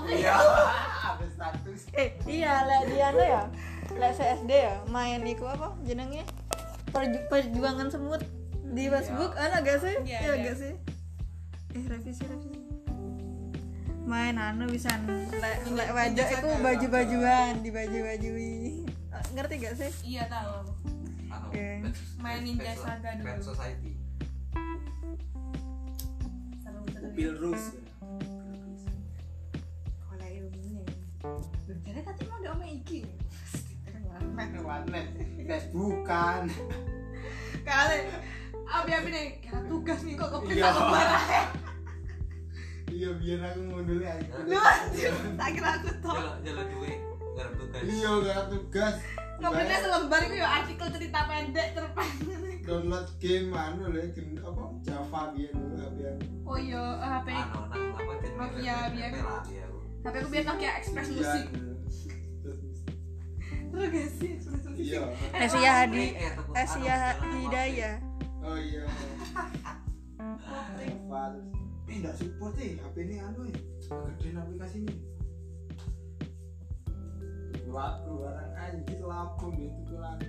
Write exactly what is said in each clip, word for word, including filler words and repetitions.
Iya. Ada status. Eh, iya lek Diana ya. Lek C S D ya, main iku apa jenenge? Perju- perjuangan semut di Facebook, ana gak sih? Iya, Iya iya. gak sih? Eh, revisi revisi. Main anu bisa lek lek wajah iku baju-bajuan, dibaju-bajui. Eh, Ngerti gak sih? Iya tahu aku. Anu, Oke. Pet- Main Pet- Ninja Pet- Saga dulu. Pet Society. Seru-seru. Mobil Rus. Oleh ilmunya. Jadi tadi mau ada omong iki. Mana warnet? Facebookan. Kali abi-abi nih kira tugas nih kok kepilih Iya. aku marah. Iya biar aku ngundul aja. Lu anjir, tak kira aku tau. Jalan jalan duwe garap tugas. Iya gak tugas. Kepilih selembar itu ya artikel cerita pendek terpendek. Download game anu lho game apa Java biar dulu biar. Oh iya, H P Anu nang apa jenenge? Nokia, biar. P L A, iya, Bu. H P aku biar Nokia Express Music. Terus gak sih? Express Music. Iya. Asia Hadi, Eh, tepuk Asia tangan, Hidayah. Oh iya. Java terus. Eh enggak support sih H P ini anu ya. Gedein aplikasinya. Lagu barang anjir lapung itu lagu.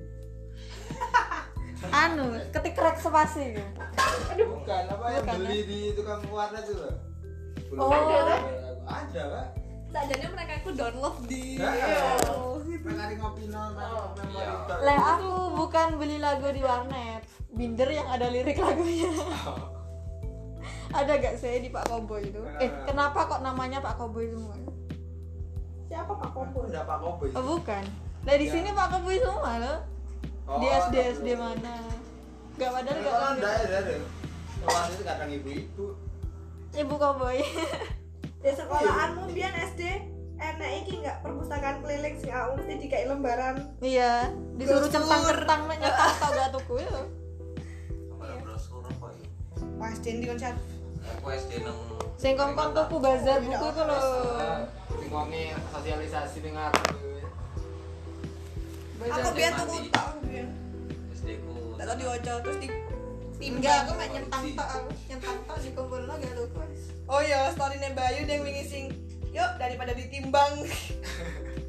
Anu, ketik rek spasi gitu. Bukan apa yang Bukan, beli di tukang warnet itu loh. Belum Oh. ada, ada Pak. Sajane mereka itu download di Nah, Oh. Mereka ngopi nol memori Iya. tok. Lek aku bukan beli lagu di warnet, binder yang ada lirik lagunya. Ada gak sih di Pak Koboy itu? Eh, kenapa kok namanya Pak Koboy semua? Siapa Pak Koboy? Udah Pak Koboy. Oh bukan. Nah di Ya. sini Pak Koboy semua loh. Oh, Di S D S D tapi- mana? Gak padahal Kalau gak enggak ada ada. Kalau itu kadang ibu-ibu. Ibu Koboy. Di sekolahanmu biyen S D enak iki enggak perpustakaan keliling sing aku mesti dikai lembaran. Iya, disuruh centang-centang mek nyetak tau gak tuku ya. Apa brosur apa ya? Pas S D di konser. Aku S D nang Sing kongkong tuku bazar buku itu lho. Sing wonge sosialisasi ning arep. Aku biyen tuku tok biyen. S D ku. Tak tau diwaca terus di Enggak, aku mek nyentang tok aku. Nyentang tok dikumpulno gak tuku. Oh iya, story-ne Bayu yang wingi sing yuk daripada ditimbang.